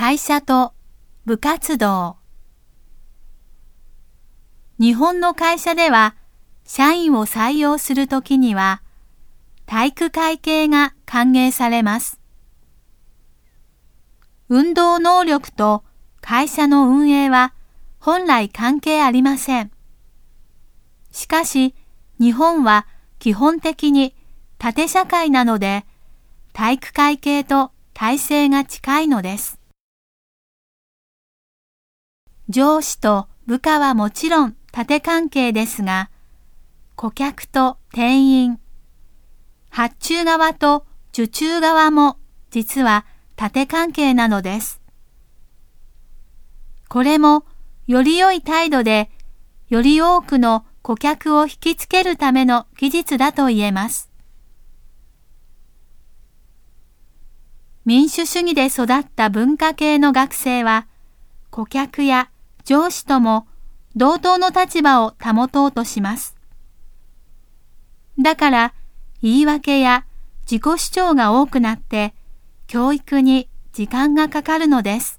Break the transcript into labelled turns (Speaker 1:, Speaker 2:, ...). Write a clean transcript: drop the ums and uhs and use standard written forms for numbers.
Speaker 1: 会社と部活動。日本の会社では、社員を採用するときには、体育会系が歓迎されます。運動能力と会社の運営は本来関係ありません。しかし、日本は基本的に縦社会なので、体育会系と体制が近いのです。上司と部下はもちろん縦関係ですが、顧客と店員、発注側と受注側も実は縦関係なのです。これもより良い態度で、より多くの顧客を引きつけるための技術だと言えます。民主主義で育った文化系の学生は、顧客や上司とも同等の立場を保とうとします。だから言い訳や自己主張が多くなって教育に時間がかかるのです。